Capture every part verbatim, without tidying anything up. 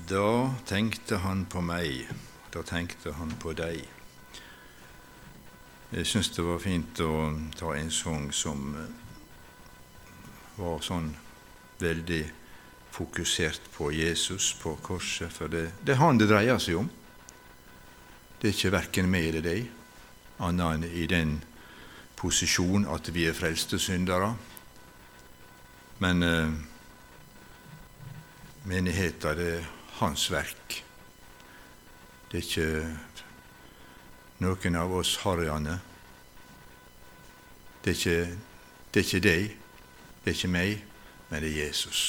Da tenkte han på meg, da tenkte han på deg. Jeg synes det var fint å ta en sang som var sånn veldig fokusert på Jesus, på korset, for det, det er han det dreier seg om. Det er ikke hverken meg eller deg, annet enn i den posisjon at vi er frelste syndere. Men eh, menigheten, det er hans verk. Det er ikke noen av oss harryene. Det er ikke, det er ikke deg, det er ikke meg, men det er Jesus.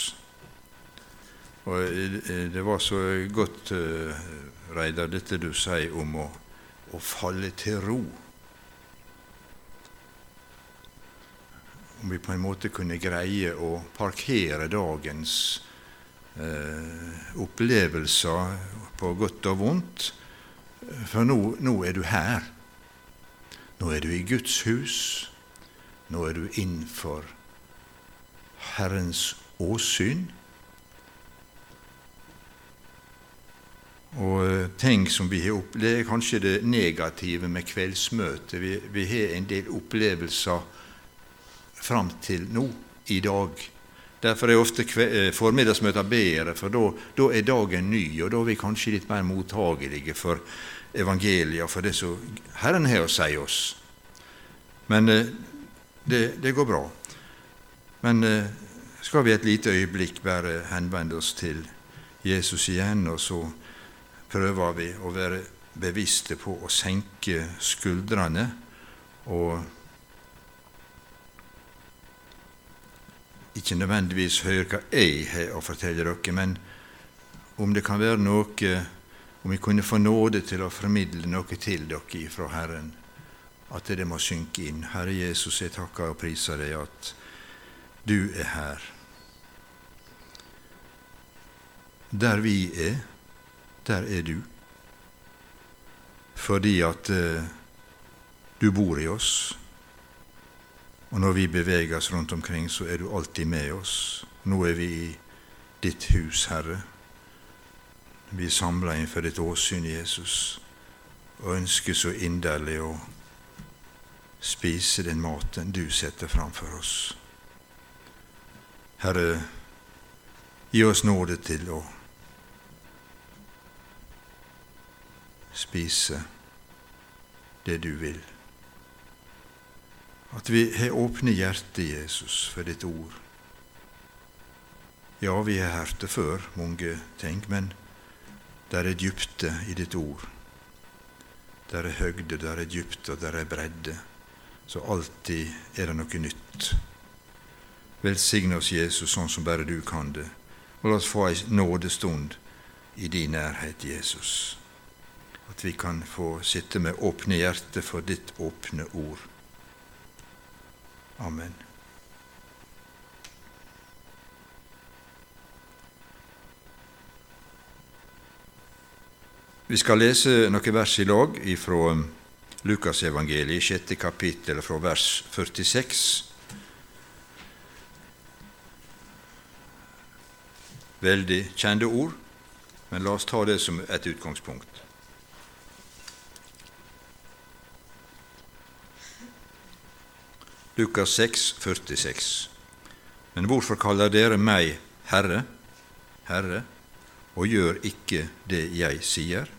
Og det var så godt, Reidar, dette du sier om å, å falle til ro. Om vi på en måte kunne greie å parkere dagens eh, opplevelser på godt og vondt, for nå, nå er du her. Nå er du i Guds hus. Nå er du innenfor Herrens åsyn. Og ting som vi har opplevd, det er kanskje det negative med kveldsmøtet. Vi, vi har en del opplevelser fram til nå, i dag. Derfor er ofte formiddagsmøter bedre, for da, da er dagen ny, og da er vi kanskje litt mer mottagelige for evangeliet, for det som Herren har å si oss. Men det, det går bra. Men skal vi et lite øyeblikk bare henvende oss til Jesus igjen, og så prøver vi å være bevisste på å senke skuldrene og ikke nødvendigvis høre hva jeg har å fortelle dere, men om det kan være noe, om vi kunne få nåde til å formidle noe til dere fra Herren, at det må synke inn. Herre Jesus, jeg takker og priser deg at du er her. Der vi er, der er du. Fordi at uh, du bor i oss. Og når vi beveger oss rundt omkring, så er du alltid med oss. Nå er vi i ditt hus, Herre. Vi er samlet innenfor ditt åsyn, Jesus, og ønsker så inderlig å spise den maten du setter framfor oss. Herre, gi oss nåde til å spise det du vil. At vi har åpne hjerte, Jesus, for ditt ord. Ja, vi har hørt det før, mange ting, men der er djupte i ditt ord. Der er høgde, der er djupte, og der er bredde. Så alltid er det noe nytt. Velsigne oss, Jesus, sånn som bare du kan det. Og la oss få en nådestund i din nærhet, Jesus. At vi kan få sitte med åpne hjerte for ditt åpne ord. Amen. Vi skal lese noen vers i lag fra Lukas evangeliet, sjette kapittel, fra vers førtiseks. Veldig kjente ord, men la oss ta det som et utgangspunkt. Lukas seks, førtiseks. Men hvorfor kaller dere meg Herre, Herre, og gjør ikke det jeg sier?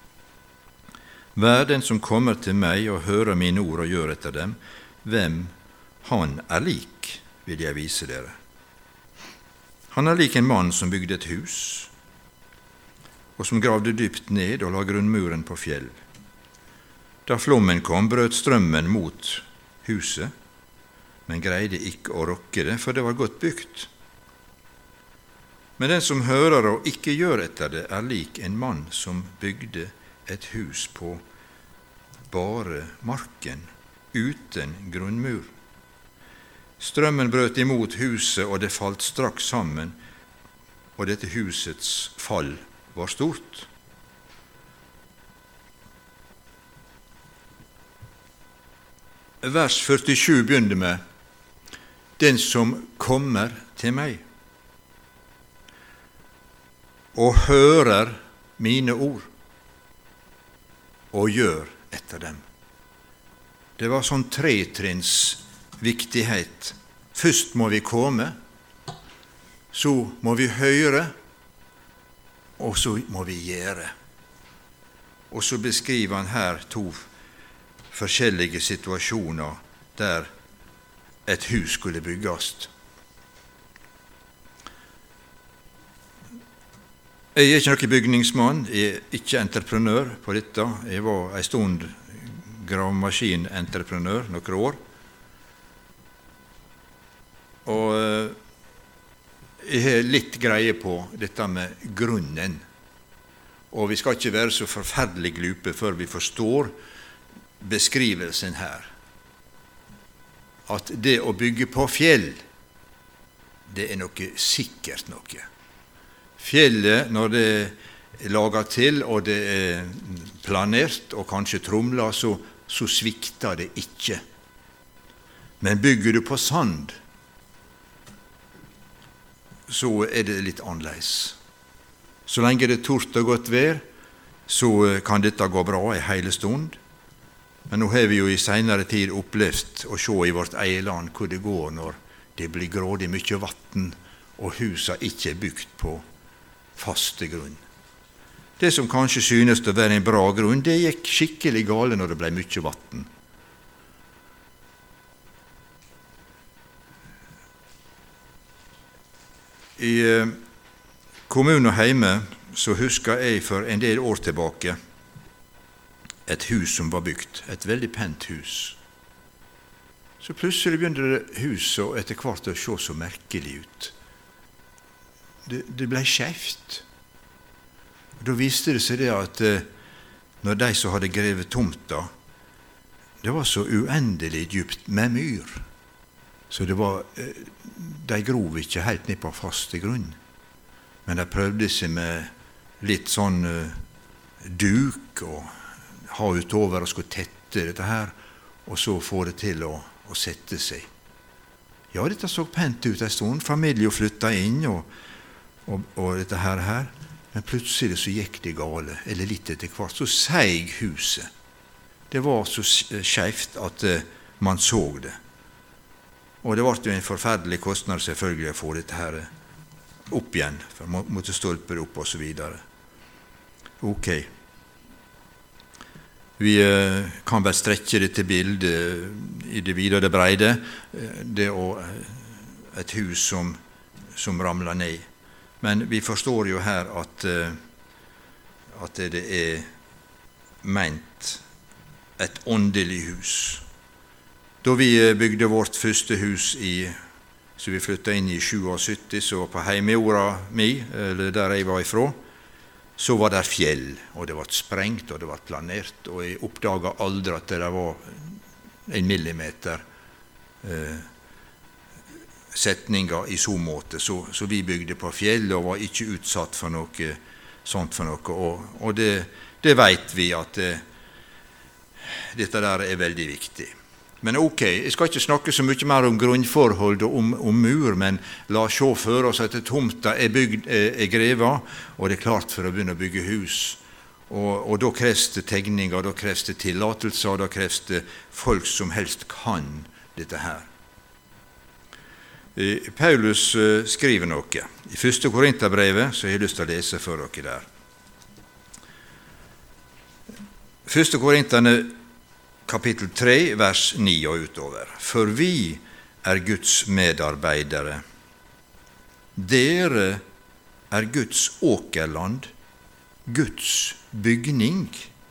Hver den som kommer til meg og hører mine ord og gjør etter dem, hvem han er lik, vil jeg vise dere. Han er lik en mann som bygde et hus, og som gravde dypt ned og la grunnmuren på fjell. Da flommen kom, brøt strømmen mot huset, men greide ikke å rokke det, for det var godt bygd. Men den som hører og ikke gjør etter det, er lik en mann som bygde et hus på bare marken, uten grunnmur. Strømmen brøt imot huset, og det falt straks sammen, og dette husets fall var stort. Vers førtisju begynner med den som kommer til meg. og hører mine ord, og gjør etter dem. Det var sånn tretrinns viktighet. Først må vi komme, så må vi høre, og så må vi gjøre. Og så beskriver han her to forskjellige situasjoner der et hus skulle bygges. Jeg er ikke noen bygningsmann, jeg er ikke entreprenør på dette. Jeg var en stund gravemaskinentreprenør noen år. Og jeg har litt greie på dette med grunnen. Og vi skal ikke være så forferdelig glupe før vi forstår beskrivelsen her. At det å bygge på fjell, det er noe sikkert noe. Fjellet, når det er laget til, og det er planert, og kanskje tromlet, så, så svikter det ikke. Men bygger du på sand, så er det litt annerledes. Så lenge det er tort og godt vær, så kan dette gå bra en hele stund. Men nå har vi jo i senere tid opplevd å se i vårt eget land hvor det går når det blir grådig mye vann, og husa ikke er bygd på faste grunn. Det som kanskje synes å være en bra grunn, det gikk skikkelig gale når det ble mye vann. I eh, kommunen og heime så husker jeg for en del år tilbake et hus som var bygd, et veldig pent hus. Så plutselig begynte det huset etter hvert å se så merkelig ut. Det, det ble skjevt. Da viste det seg det at eh, når de som hadde grevet tomta, det var så uendelig djupt med myr, så det var, eh, de grov ikke helt ned på faste grunn. Men de prøvde seg med litt sånn eh, duk og ha utover og skulle tette dette her, og så få det til å, å sette seg. Ja, dette så pent ut en stund. Familien flyttet inn, og Og, og dette her, her, men plutselig så gikk det gale, eller litt etter hvert, så seig huset. Det var så skjevt at uh, man så det. Og det ble jo en forferdelig kostnad selvfølgelig å få dette her opp igjen, for man måtte stolpe det opp og så videre. Ok. Vi uh, kan vel strekke dette bildet i det videre breide, uh, det og uh, et hus som, som ramler ned. Men vi forstår jo her at, at det er ment et åndelig hus. Da vi bygde vårt første hus, i, så vi flyttet inn i syttisju, så på heimejorda mi, eller der jeg var ifra, så var det fjell, og det var sprengt, og det var planert, og jeg oppdaget aldri at det var en millimeter eh, setninger i så måte, så, så vi bygde på fjell og var ikke utsatt for noe sånt for noe, og, og det, det vet vi at det, dette der er veldig viktig. Men ok, jeg skal ikke snakke så mye mer om grunnforhold og om, om mur, men la oss se for oss at tomta er, bygd, er, er grevet, og det er klart for å begynne å bygge hus. Og, og da kreves det tegninger, da kreves det tillatelser, og da kreves det folk som helst kan dette her. Paulus skriver noe. I første Korinterbrevet, så har jeg lyst til å lese for dere der. Første Korinterne, kapittel tre, vers ni og utover. For vi er Guds medarbeidere. Dere er Guds åkerland, Guds bygning.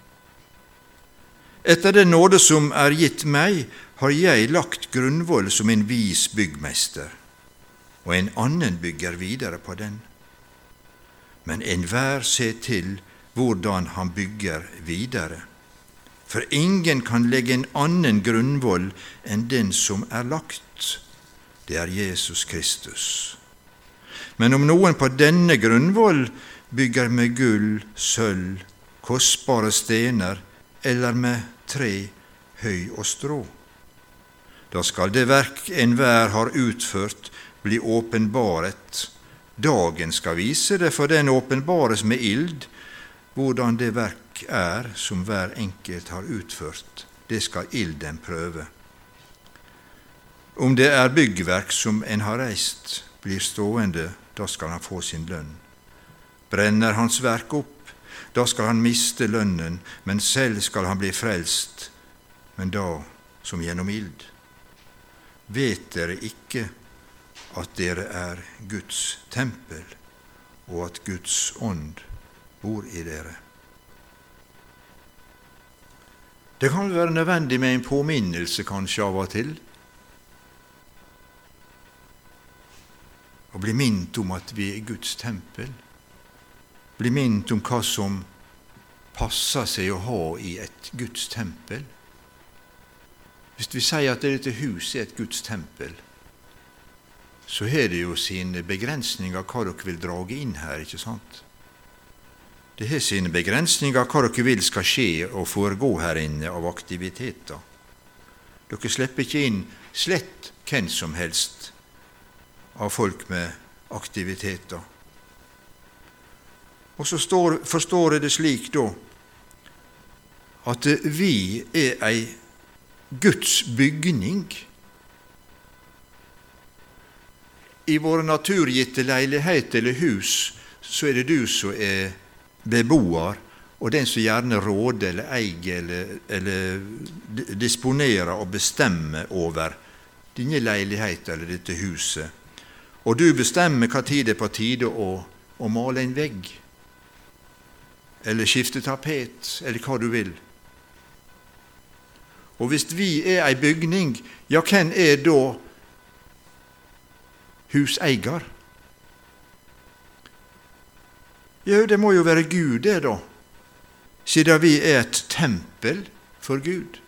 Etter den nåde som er gitt meg, har jeg lagt grunnvoll som en vis byggmester, og en annen bygger videre på den. Men enhver ser til hvordan han bygger videre. For ingen kan legge en annen grunnvoll enn den som er lagt. Det er Jesus Kristus. Men om noen på denne grunnvoll bygger med gull, sølv, kostbare stener, eller med tre, høy og strå, da skal det verk enhver har utført bli åpenbaret, Dagen skal vise det, for den åpenbares med ild. Hvordan det verk er som hver enkelt har utført, det skal ilden prøve. Om det er byggverk som en har reist, blir stående, da skal han få sin lønn. Brenner hans verk opp, da skal han miste lønnen, men selv skal han bli frelst, men da som gjennom ild. Vet dere ikke at dere er Guds tempel, og at Guds ånd bor i dere? Det kan være nødvendig med en påminnelse kanskje av og til, å bli minnet om at vi er Guds tempel, bli minnet om hva som passer seg å ha i et Guds tempel. Hvis vi sier at dette huset er et Guds tempel, så har det jo sine begrensninger hva dere vil drage inn her, ikke sant? Det har sine begrensninger hva dere vil skal skje og foregå her inne av aktiviteter. Dere slipper ikke inn slett hvem som helst av folk med aktiviteter. Og så står, forstår jeg det slik da, at vi er ei Guds bygning. I våre naturgitte leilighet eller hus, så er det du som er beboer, og den som gjerne råder eller eier eller, eller disponerer og bestemmer over dine leiligheter eller dette huset. Og du bestemmer hva tid det er på tide å, å male en vegg, eller skifte tapet, eller hva du vil. Og hvis vi er ei bygning, ja, hvem er da huseier? Jo, det må jo være Gud det da, siden vi er et tempel for Gud.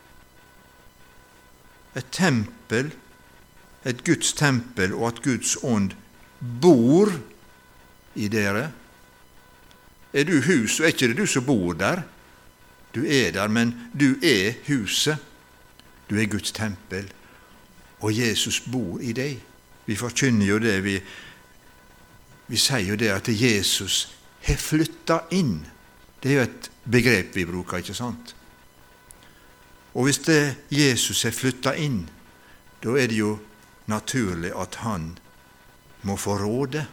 Et tempel, et Guds tempel, og at Guds ånd bor i dere. Er du hus, så er ikke det du som bor der. Du er der, men du er huset. Du er Guds tempel, og Jesus bor i deg. Vi forkynner jo det, vi, vi sier jo det at Jesus har flyttet inn. Det er jo et begrep vi bruker, ikke sant? Og hvis det Jesus har flyttet inn, da er det jo naturlig at han må få råde.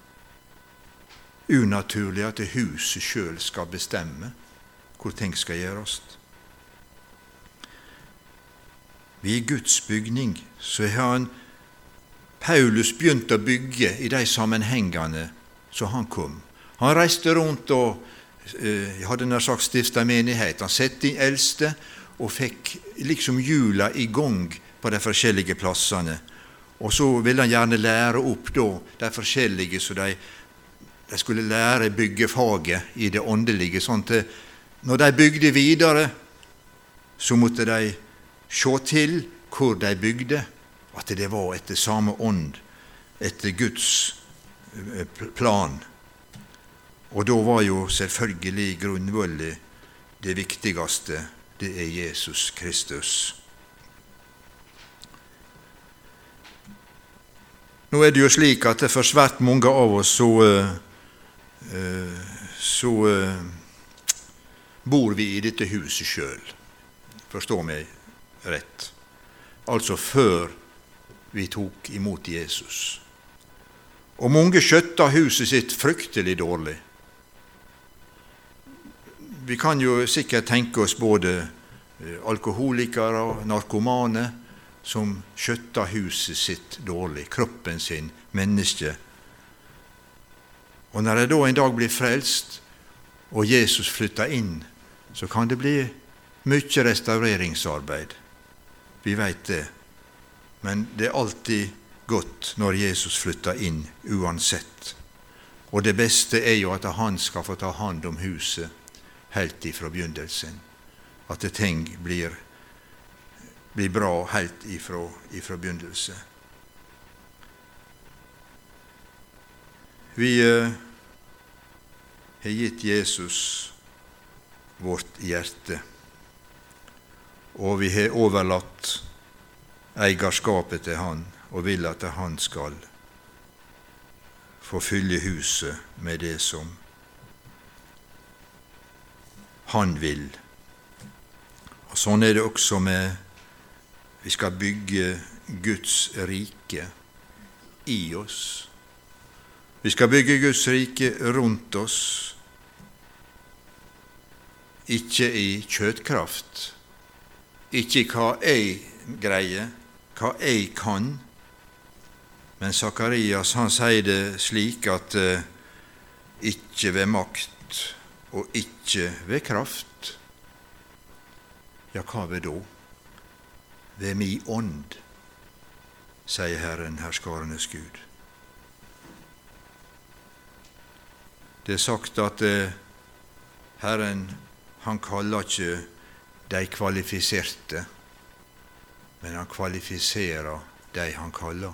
Unaturlig at det huset selv skal bestemme hvor ting skal gjøres. Vi er Guds bygning, så har han Paulus begynt å bygge i de sammenhengene så han kom. Han reiste rundt og eh, hadde nær sagt stiftet menighet. Han sette inn eldste og fikk liksom hjula i gang på de forskjellige plassene. Og så ville han gjerne lære opp da, de forskjellige, så de, de skulle lære byggefaget i det åndelige. Sånn at når de bygde videre, så måtte de se til hvor de bygde, at det var etter samme ånd, etter Guds plan. Og da var jo selvfølgelig grunnvollet det viktigste, det er Jesus Kristus. Nå er det jo slik at for svært mange av oss så, så bor vi i dette huset selv. Forstår meg rett. Altså før vi tok imot Jesus. Og mange skjøtta huset sitt fryktelig dårlig. Vi kan jo sikkert tenke oss både alkoholikere og narkomane som skjøtta huset sitt dårlig, kroppen sin, menneske. Og når de da en dag blir frelst, og Jesus flytter inn, så kan det bli mye restaureringsarbeid. Vi vet det. Men det er alltid godt når Jesus flytter inn, uansett. Og det beste er jo at han skal få ta hand om huset helt ifra begynnelsen. At det ting blir, blir bra helt ifra, ifra begynnelsen. Vi eh, har gitt Jesus vårt hjerte, og vi har overlatt eierskapet til han, og vil at han skal få fylle huset med det som han vil. Og sånn er det også med vi skal bygge Guds rike i oss. Vi skal bygge Guds rike rundt oss, ikke i kjøtkraft, ikke i hva jeg greier, hva jeg kan. Men Sakarias, han sier det slik at eh, ikke ved makt og ikke ved kraft. Ja, hva ved da? Ved mi ånd, sier Herren, herskarenes Gud. Det er sagt at eh, Herren, han kaller ikke de kvalifiserte, men han kvalifiserer de han kaller.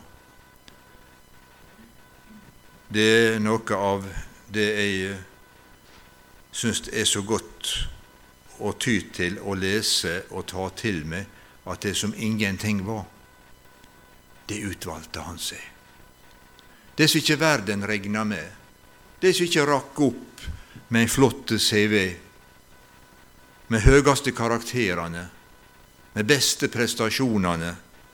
Det er noe av det jeg synes er så godt å ty til, å lese og ta til meg, at det som ingenting var, det utvalgte han seg. Det som ikke verden regner med, det som ikke rakk opp med en flott C V, med høyeste karakterene, med beste prestasjonene,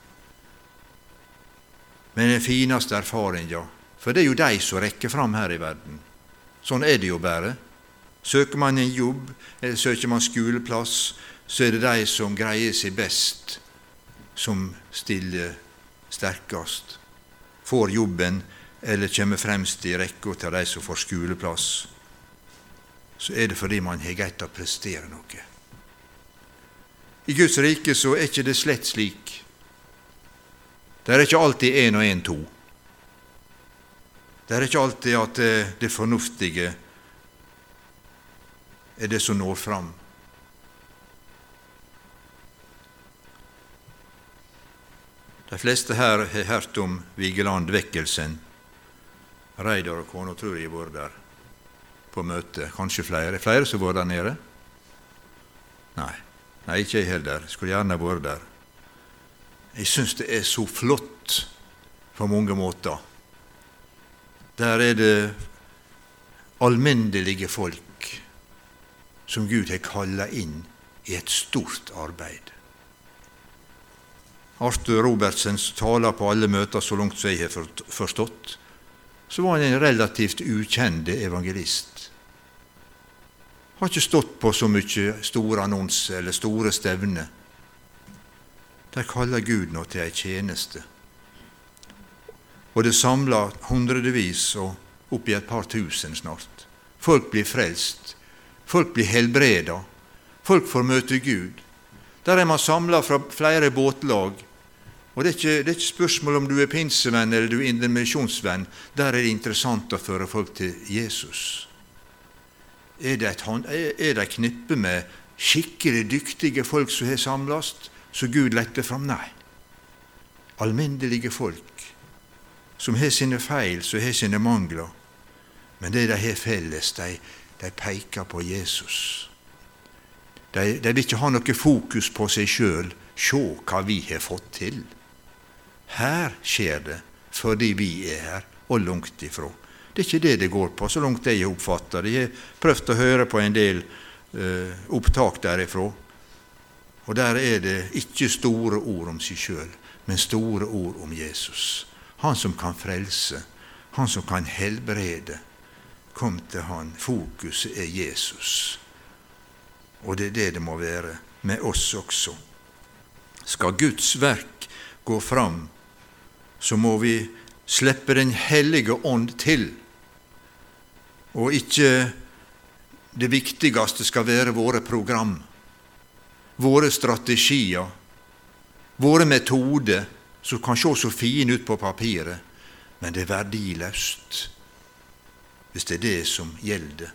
med den fineste erfaringen. For det er jo de som rekker fram her i verden. Sånn er det jo bare. Søker man en jobb, eller søker man skoleplass, så er det de som greier seg best, som stiller sterkest, får jobben, eller kommer fremst i rekka til de som får skoleplass. Så er det fordi man har greid å prestere noe. I Guds rike så er ikke det slett slik. Det er ikke alltid en og en to. Det er ikke alltid at det fornuftige er det som når fram. De fleste her har hørt om Vigeland-vekkelsen. Reidar og kona tror jeg har vært der på møte. Kanskje flere. Flere som har vært der nede? Nei, Nei ikke jeg heller. Skulle gjerne vært der. Jeg synes det er så flott på mange måter. Der er det alminnelige folk som Gud har kallet inn i et stort arbeid. Arthur Robertsens taler på alle møter, så langt som jeg har forstått, så var han en relativt ukjende evangelist. Har ikke stått på så mye store annonser eller store stevner. Der kaller Gud nå til ei tjeneste. Og det samler hundredevis og opp i et par tusen snart. Folk blir frelst. Folk blir helbreda. Folk får møte Gud. Der er man samlet fra flere båtlag. Og det er, ikke, det er ikke spørsmål om du er pinsevenn eller du er indremisjonsvenn. Der er det interessant å føre folk til Jesus. Er det et, er det et knippe med skikkelig dyktige folk som har samlet, så Gud letter fram? Nei. Alminnelige folk som har sine feil, som har sine mangler. Men det de har felles, de, de peker på Jesus. De, de vil ikke ha noe fokus på seg selv. Se hva vi har fått til. Her skjer det fordi vi er her, og langt ifra. Det er ikke det det går på, så langt jeg oppfatter det. Jeg har prøvd å høre på en del uh, opptak derifra. Og der er det ikke store ord om seg selv, men store ord om Jesus. Han som kan frelse, han som kan helbrede. Kom til han. Fokuset er Jesus. Og det er det det må være med oss også. Skal Guds verk gå fram, så må vi slippe den hellige ånd til. Og ikke det viktigste skal være våre program, våre strategier, våre metoder, som kan se så fine ut på papiret, men det er verdiløst hvis det er det som gjelder.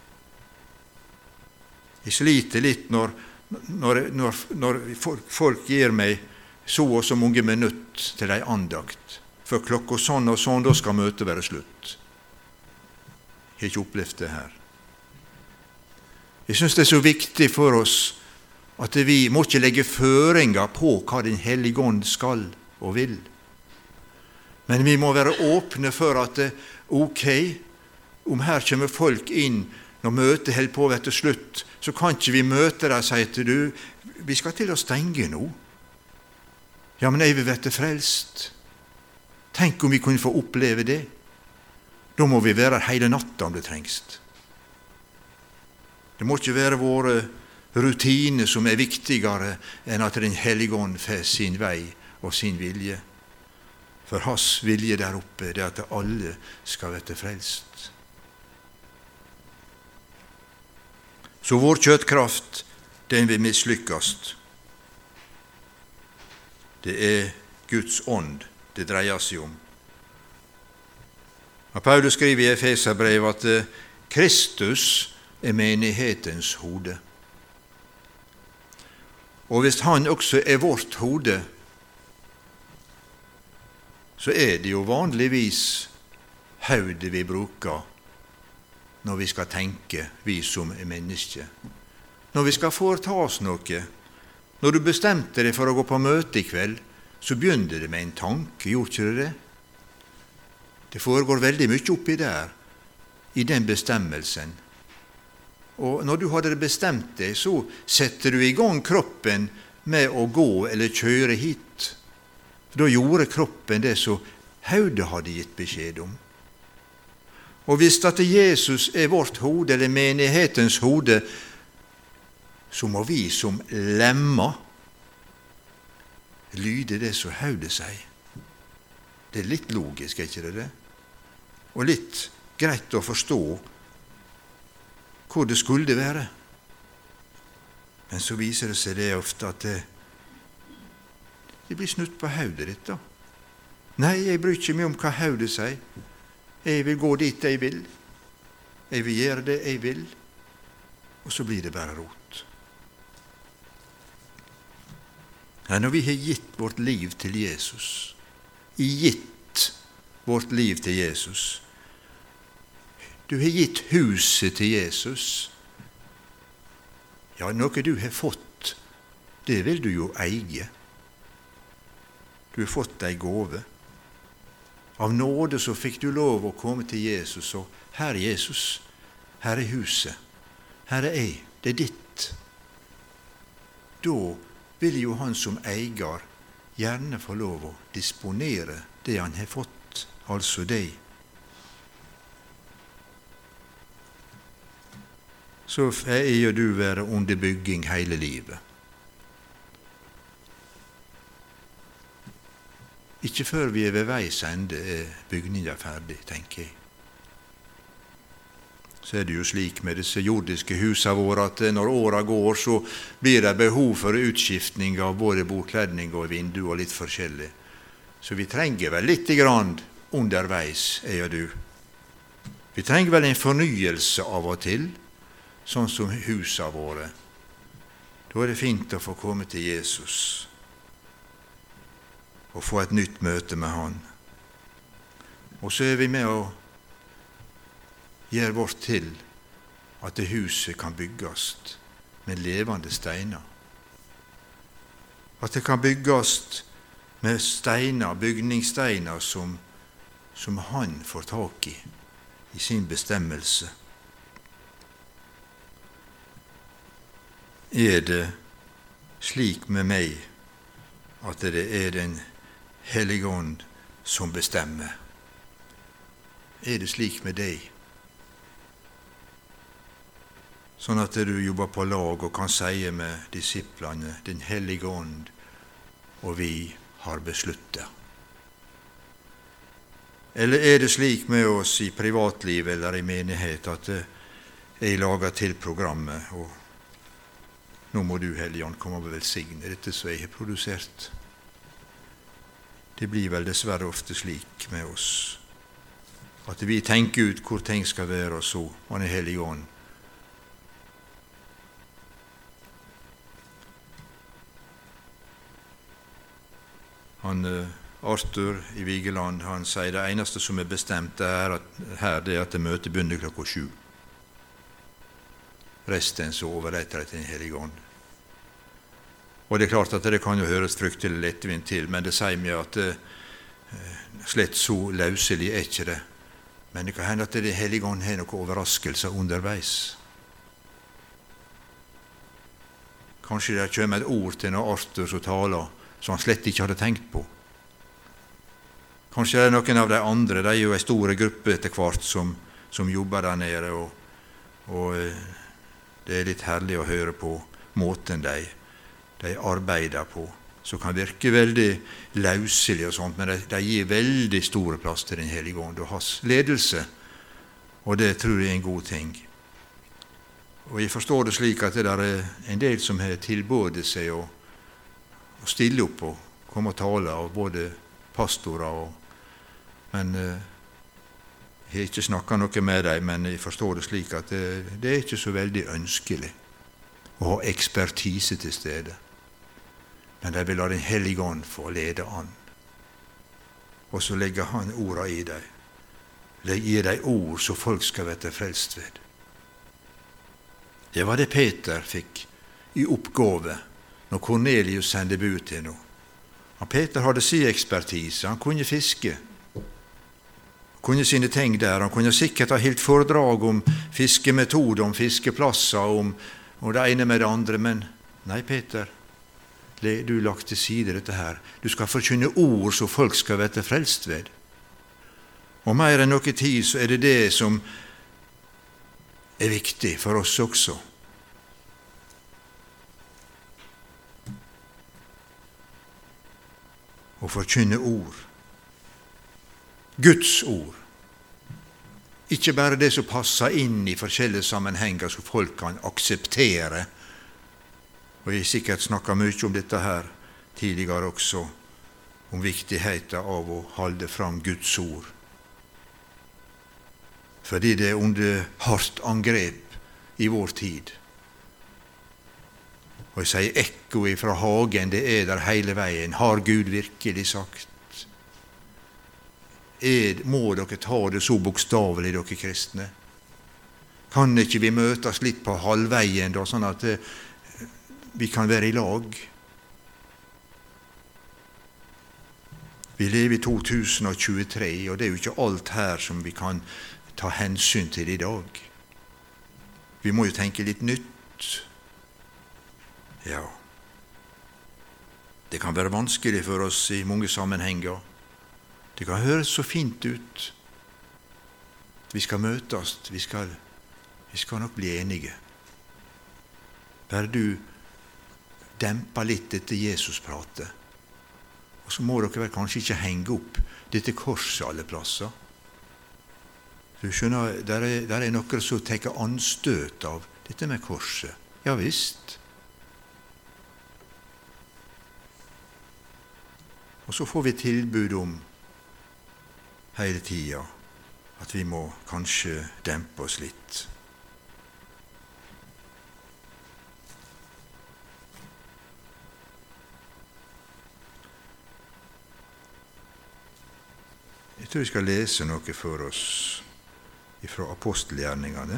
Jeg sliter litt når, når, når, når folk, folk gir meg så og så mange minutter til en andakt. For klokka sånn og sånn, da skal møtet være slutt. Jeg har ikke opplevd det her. Jeg synes det er så viktig for oss at vi må ikke legge føringer på hva Den hellige ånd skal og vil. Men vi må være åpne for at ok, om her kommer folk inn når møtet holder på å være til slutt, så kan ikke vi møte deg og si til du, vi skal til å stenge nå. Ja, men jeg vil være frelst. Tenk om vi kunne få oppleve det. Da må vi være hele natta om det trengst. Det må ikke være våre rutiner som er viktigere enn at Den hellige ånd får sin vei og sin vilje. For hans vilje der oppe er at alle skal være frelst. Så vår kjøttkraft, den vil mislykkes. Det er Guds ånd det dreier seg om. Og Paulus skriver i Efeserbrevet at Kristus er menighetens hode. Og hvis han også er vårt hode, så er det jo vanligvis hodet vi bruker når vi skal tenke, vi som er mennesker. Når vi skal foreta oss noe, når du bestemte deg for å gå på møte i kveld, så begynner det med en tanke, gjorde ikke det det? Det foregår veldig mye oppi der, i den bestemmelsen. Og når du hadde bestemt deg, så setter du i gang kroppen med å gå eller kjøre hit. For da gjorde kroppen det som hodet hadde gitt beskjed om. Og hvis at Jesus er vårt hode, eller menighetens hode, så må vi som lemmer lyde det som hodet sier. Det er litt logisk, er ikke det det? Og litt greit å forstå hvor det skulle være. Men så viser det seg det ofte at det, det blir snutt på hodet ditt da. Nei, jeg bryr ikke meg om hva hodet sier. Jeg vil gå dit jeg vil. Jeg vil gjøre det jeg vil. Og så blir det bare rot. Ja, når vi har gitt vårt liv til Jesus, gitt vårt liv til Jesus, du har gitt huset til Jesus, ja, noe du har fått, det vil du jo eie. Du har fått ei gåve. Av nåde så fikk du lov å komme til Jesus, og her er Jesus, her er huset, her er jeg, det er ditt. Da vil jo han som eier gjerne få lov å disponere det han har fått, altså deg. Så er jo du være under bygging hele livet. Ikke før vi er ved veis ende er bygningen ferdig, tenker jeg. Så er det jo slik med disse jordiske husene våre at når åra går, så blir det behov for utskiftning av både bordkledning og vindu og litt forskjellig. Så vi trenger vel litt grann underveis, jeg og du. Vi trenger vel en fornyelse av og til, sånn som husene våre. Da er det fint å få komme til Jesus og få et nytt møte med han. Og så er vi med å gjøre vårt til at det huset kan bygges med levende steiner. At det kan bygges med steiner, bygningssteiner som, som han får tak i, i sin bestemmelse. Er det slik med meg at det er Den hellige ånd som bestemmer? Er det slik med deg? Sånn at du jobber på lag og kan si med disiplene, Den hellige ånd, og vi har besluttet. Eller er det slik med oss i privatliv eller i menighet at jeg lager til programmet, og nå må du, Hellige Ånd, komme og velsigne dette som jeg har produsert. Det blir vel dessverre ofte slik med oss, at vi tenker ut hvor ting skal være, og så, og Den hellige Ånd. Han, Arthur i Vigeland, han sier det eneste som er bestemt er at, her, det er at det møtet begynner klokka sju. Resten så overretter det til Den hellige Ånd. Og det er klart at det kan jo høres fryktelig lettvint til, men det sier meg at eh, slett så løselig er ikke det. Men det kan hende at det Hellige Ånd har noen overraskelser underveis. Kanskje det kommer et ord til når Arthur som taler, som han slett ikke hadde tenkt på. Kanskje det er noen av de andre, de er jo en stor gruppe etter hvert som, som jobber der nede, og, og det er litt herlig å høre på måten de, de arbeider på, som kan virke veldig løselig og sånt, men de, de gir veldig store plass til Den Hellige Ånd og hans ledelse, og det tror jeg er en god ting. Og jeg forstår det slik at det der er en del som har tilbudt seg å, å stille opp og komme og tale, av både pastorer og Men eh, jeg har ikke snakket noe med dem, men jeg forstår det slik at det, det er ikke så veldig ønskelig å ha ekspertise til stede. Men de vil la Den Hellige Ånd få lede an. Og så legger han orda i dem. Gir dem ord så folk skal være frelst ved. Det var det Peter fikk i oppgave når Kornelius sendte bud til noe. Og Peter hadde sin ekspertise, han kunne fiske. kunne sine ting der. Han kunne sikkert ha helt foredrag om fiskemetoder, om fiskeplasser, om, om det ene med det andre, men nei, Peter, du lagt til side dette her. Du skal forkynne ord så folk skal være frelst ved. Og mer enn noe tid så er det det som er viktig for oss også. Å forkynne ord. Guds ord. Ikke bare det som passer inn i forskjellige sammenhenger som folk kan akseptere. Og jeg har sikkert snakket mye om dette her tidligere også, om viktigheten av å holde fram Guds ord. Fordi det er under hardt angrep i vår tid. Og jeg sier ekko ifra hagen, det er der hele veien. Har Gud virkelig sagt? Er, må dere ta det så bokstavelig, dere kristne? Kan ikke vi møtes litt på halvveien, da, sånn at eh, vi kan være i lag? Vi lever i to tusen tjuetre, og det er jo ikke alt her som vi kan ta hensyn til i dag. Vi må jo tenke litt nytt. Ja, det kan være vanskelig for oss i mange sammenhenger. Det kan høres så fint ut. Vi skal møtes, vi skal, vi skal nok bli enige. Bare du demper litt etter Jesus prater. Og så må dere vel kanskje ikke henge opp dette korset alle plasser. Du skjønner, der er, der er noen som tar anstøt av dette med korset. Ja visst. Og så får vi tilbud om hele tida at vi må kanskje dempe oss litt. Jeg tror vi skal lese noe for oss fra apostelgjerningene.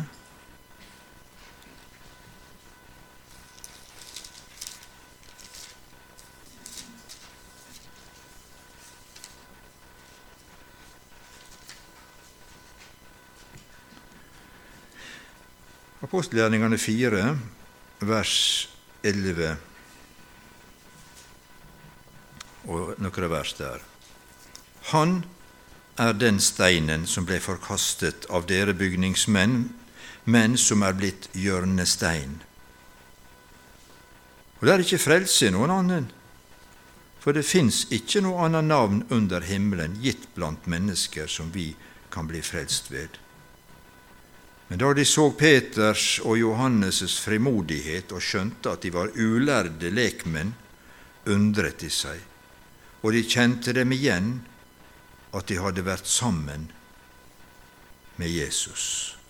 Apostelgjerningene fire, vers elleve, og noen vers der. Han er den steinen som ble forkastet av dere bygningsmenn, men som er blitt hjørnestein. Og det er ikke frelse i noen annen, for det finnes ikke noe annet navn under himmelen gitt blant mennesker som vi kan bli frelst ved. Men da de så Peters og Johannes' frimodighet og skjønte at de var ulærde lekmenn, undret de seg, og de kjente dem igjen at de hadde vært sammen med Jesus.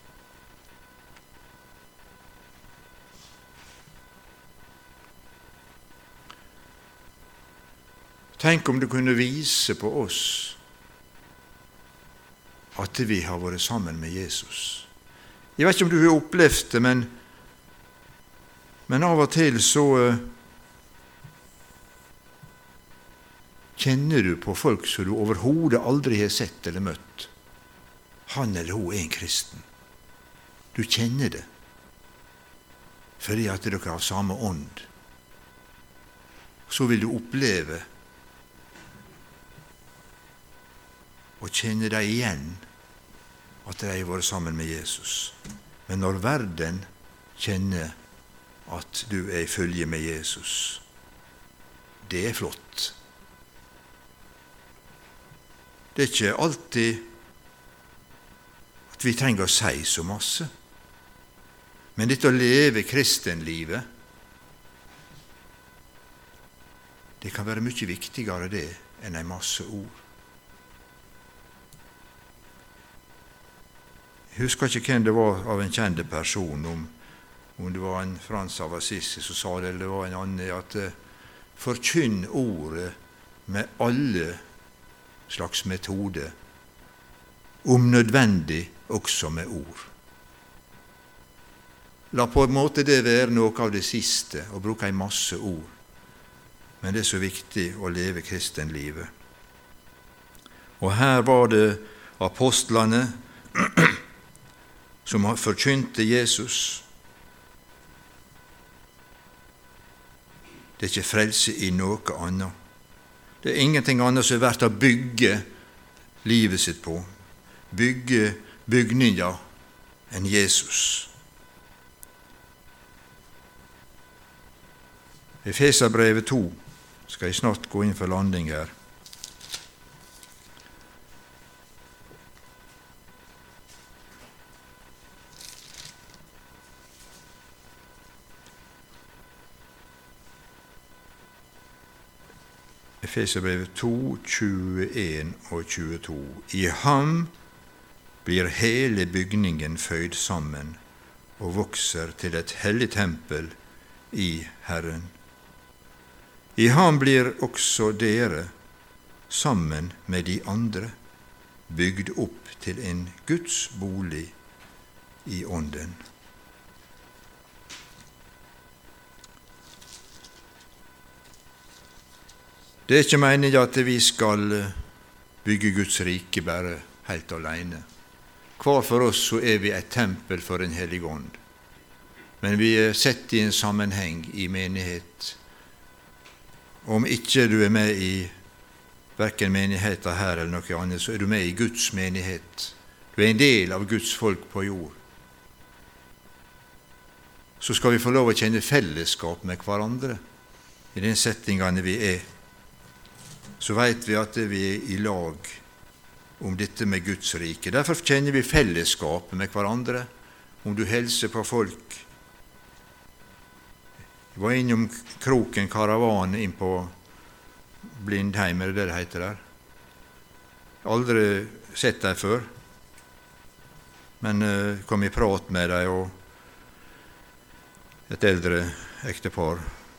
Tenk om du kunne vise på oss at vi har vært sammen med Jesus. Jeg vet ikke om du har opplevd det, men, men av og til så, kjenner du på folk som du overhodet aldri har sett eller møtt. Han eller hun er en kristen. Du kjenner det, fordi at dere har samme ånd. Så vil du oppleve og kjenne deg igjen at de har vært sammen med Jesus. Men når verden kjenner at du er i følge med Jesus, det er flott. Det er ikke alltid at vi trenger å si så masse. Men dette å leve kristenlivet, det kan være mye viktigere det enn en masse ord. Jeg husker ikke hvem det var av en kjent person, om, om det var en Frans av Assisi som sa det, eller det var en annen, at uh, forkynn ordet med alle slags metode, om nødvendig også med ord. La på en måte det være noe av det siste, å bruke en masse ord. Men det er så viktig å leve kristenlivet. Og her var det apostlene som forkynte Jesus. Det er ikke frelse i noe annet. Det er ingenting annet som er verdt å bygge livet sitt på, bygge bygninger enn Jesus. Efeserbrevet to skal jeg snart gå inn for landing her. Efeserbrevet to, tjueen og tjueto. I ham blir hele bygningen føyd sammen og vokser til et hellig tempel i Herren. I ham blir også dere, sammen med de andre, bygd opp til en Guds bolig i ånden. Det er ikke meningen at vi skal bygge Guds rike bare helt alene. Hver for oss så er vi et tempel for en hellig ånd. Men vi er sett i en sammenheng i menighet. Om ikke du er med i hverken menigheten her eller noe annet, så er du med i Guds menighet. Du er en del av Guds folk på jord. Så skal vi få lov å kjenne fellesskap med hverandre i den settingene vi er. Så vet vi at vi er i lag om dette med Guds rike. Derfor kjenner vi fellesskapet med hverandre. Om du hilser på folk. Jeg var innom Kroken Karavan inn på Blindheim, er det det heter der? Aldri sett dem før, men uh, kom i prat med dem, og et eldre ektepar,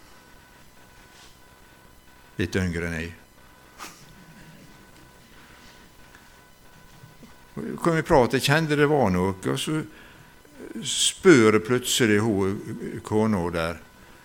litt yngre enn jeg. Kom i prat, jeg kjente det var noe, og så spør plutselig hun, kona der,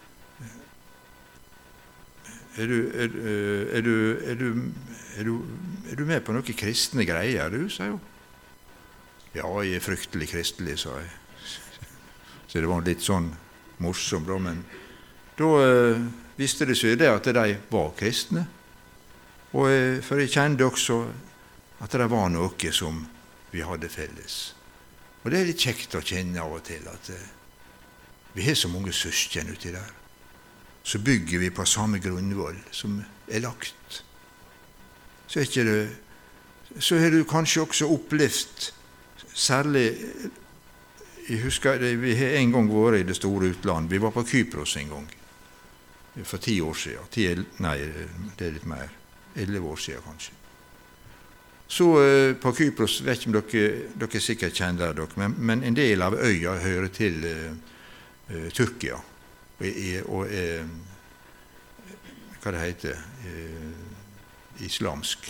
Er du, er, er, du, er, du, er, du, er du med på noen kristne greier, du, sa jo. Ja, jeg er fryktelig kristelig, sa jeg. Så det var litt sånn morsomt, men da eh, visste det seg det at de var kristne. Og, eh, for jeg kjente også at det var noe som vi hadde felles. Og det er litt kjekt å kjenne av og til at eh, vi har så mange søsken uti der. Så bygger vi på samme grunnvoll som er lagt. Så er ikke det, så har du kanskje også opplevd, særlig, jeg husker det, vi har en gang vært i det store utland, vi var på Kypros en gang, for ti år siden, ti, nei, det er litt mer, elleve år siden kanskje. Så uh, på Kypros, vet ikke om dere, dere sikkert kjenner dere, men, men en del av øya hører til uh, uh, Tyrkia. Og, og eh, hva det heter eh, islamsk.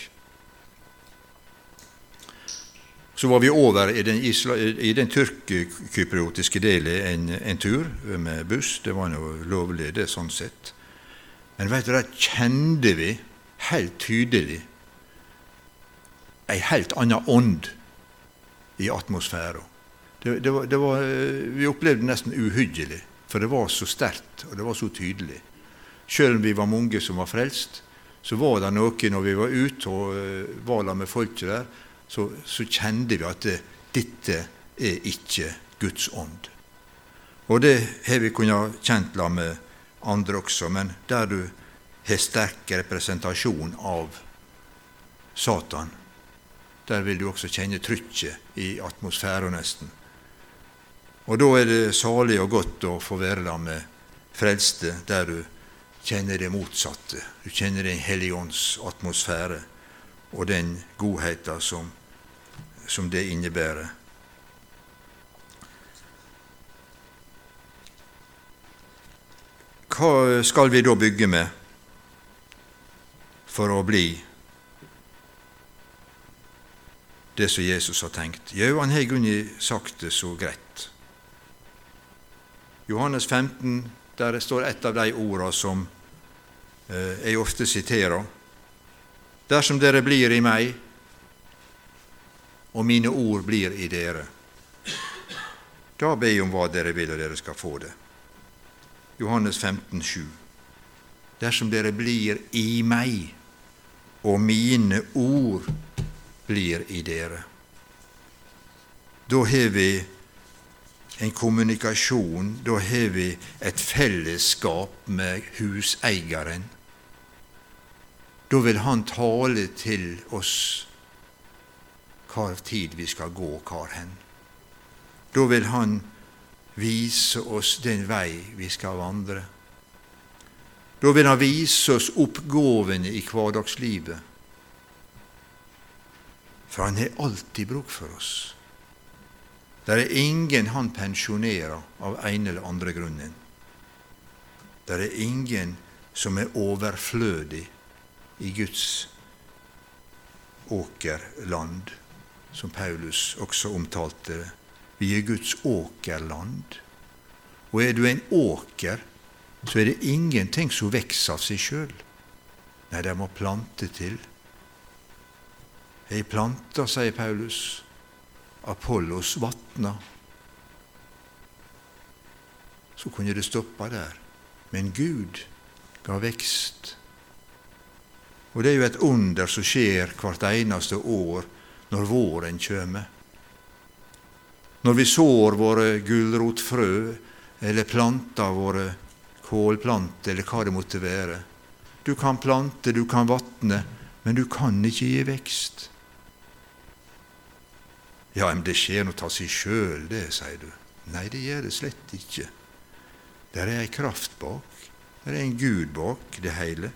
Så var vi over i den, isla, i den tyrk-kypriotiske delen en, en tur med buss. Det var noe lovlig, det sånn sett. Men vet du, der kjente vi helt tydelig en helt annen ånd i atmosfæren. Det, det var, det var, vi opplevde det nesten uhyggelig, for det var så sterkt, og det var så tydelig. Selv om vi var mange som var frelst, så var det noe når vi var ute og uh, var der med folket der, så, så kjente vi at det, dette er ikke Guds ånd. Og det har vi kunnet kjent la med andre også, men der du har sterk representasjon av Satan, der vil du også kjenne trykket i atmosfæren nesten. Og da er det salig og godt å få være der med frelste, der du kjenner det motsatte. Du kjenner den Hellige Ånds atmosfære og den godheten som, som det innebærer. Hva skal vi da bygge med for å bli det som Jesus har tenkt? Jo, han har ikke sagt det så greit. Johannes femten, der står et av de ordene som eh, jeg ofte siterer. Dersom dere blir i meg, og mine ord blir i dere, da ber jeg om hva dere vil, og dere skal få det. Johannes femten, sju. Dersom dere blir i meg, og mine ord blir i dere, da har vi en kommunikasjon, da har vi et fellesskap med huseieren. Da vil han tale til oss hva tid vi skal gå, hvor hen. Da vil han vise oss den vei vi skal vandre. Da vil han vise oss oppgavene i hverdagslivet. For han har alltid bruk for oss. Det er ingen han pensjonerer av en eller andre grunnen. Det er ingen som er overflødig i Guds åkerland, som Paulus også omtalte det. Vi er Guds åkerland. Og er du en åker, så er det ingenting som vekser av seg selv. Nei, det må plante til. Jeg planter, sier Paulus, Apollos vattna. Så kunne det stoppa der. Men Gud ga vekst. Og det er jo et under som skjer hvert eneste år når våren kommer. Når vi sår våre gulrotfrø, eller planter våre kålplanter, eller hva det måtte være. Du kan plante, du kan vatne, men du kan ikke gi vekst. Ja, men det skjer noe av seg sjøl, det, sier du. Nei, det gjør det slett ikke. Der er en kraft bak. Der er en Gud bak det hele.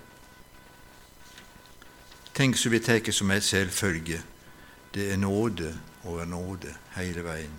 Tenk som vi tar som en selvfølge. Det er nåde over nåde hele veien.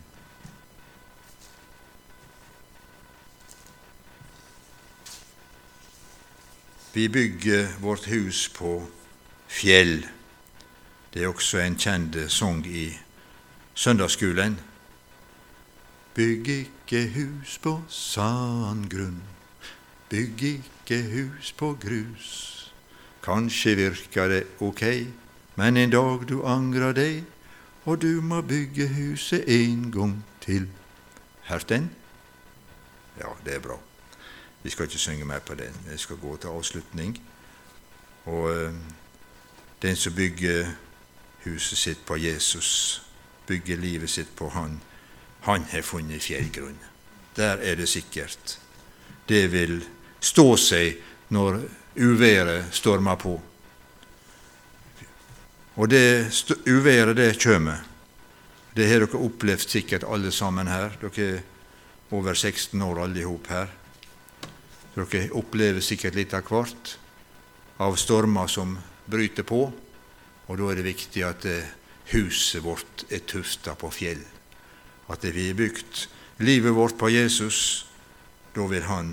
Vi bygger vårt hus på fjell. Det er også en kjent sang i søndagsskolen. Bygg ikke hus på sandgrunn, bygg ikke hus på grus. Kanskje virker det ok, men en dag du angrer deg, og du må bygge huset en gang til. Hørt den? Ja, det er bra. Vi skal ikke synge mer på den. Vi skal gå til avslutning. Og øh, den som bygger huset sitt på Jesus, bygger livet sitt på han, han har funnet fjellgrunn. Der er det sikkert. Det vil stå seg når uværet stormer på. Og det uværet, det kommer. Det har dere opplevd sikkert alle sammen her. Dere er over seksten år alle ihop her. Dere opplever sikkert litt av hvert av stormer som bryter på, og da er det viktig at huset vårt er tuftet på fjell. At vi har bygd livet vårt på Jesus, da vil han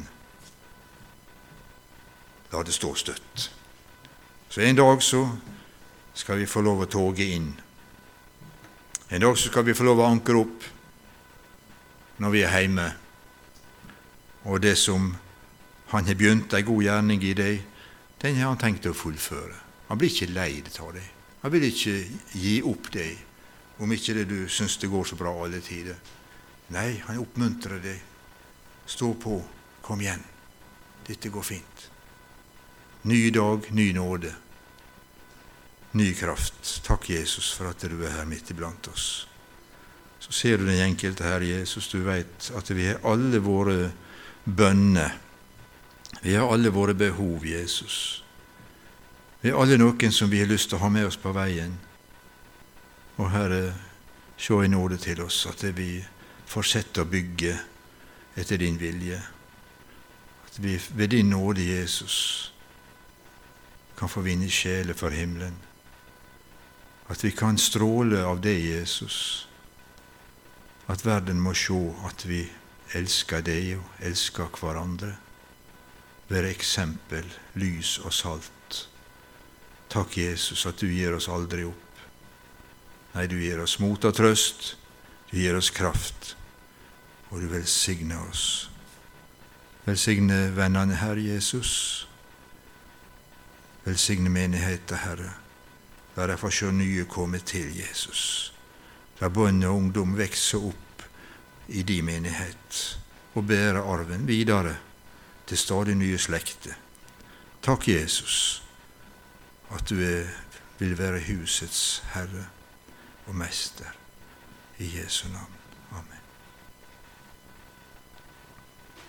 la det stå støtt. Så en dag så skal vi få lov å toge inn. En dag så skal vi få lov å ankre opp når vi er hjemme. Og det som han har begynt en god gjerning i deg, den har han tenkt å fullføre. Han blir ikke leid av deg. Han vil ikke gi opp deg, om ikke det du syns det går så bra alle tider. Nei, han oppmuntrer deg. Stå på, kom igjen. Dette går fint. Ny dag, ny nåde. Ny kraft. Takk, Jesus, for at du er her midt iblant oss. Så ser du den enkelte her, Jesus. Du vet at vi har alle våre bønner. Vi har alle våre behov, Jesus. Vi har alle noen som vi har lyst til å ha med oss på veien. Og Herre, se i nåde til oss at vi fortsetter å bygge etter din vilje. At vi ved din nåde, Jesus, kan få vinne sjeler for himmelen. At vi kan stråle av deg, Jesus. At verden må se at vi elsker deg og elsker hverandre. Være eksempel, lys og salt. Takk, Jesus, at du gir oss aldri opp. Nei, du gir oss mot og trøst, du gir oss kraft, og du velsigner oss. Velsigne vennene, Herre Jesus. Velsigne menigheten, Herre. La deg få se nye komme til, Jesus. La barn og ungdom vekse opp i din menighet og bære arven videre til stadig nye slekter. Takk, Jesus, at du er, vil være husets herre og mester. I Jesu navn. Amen.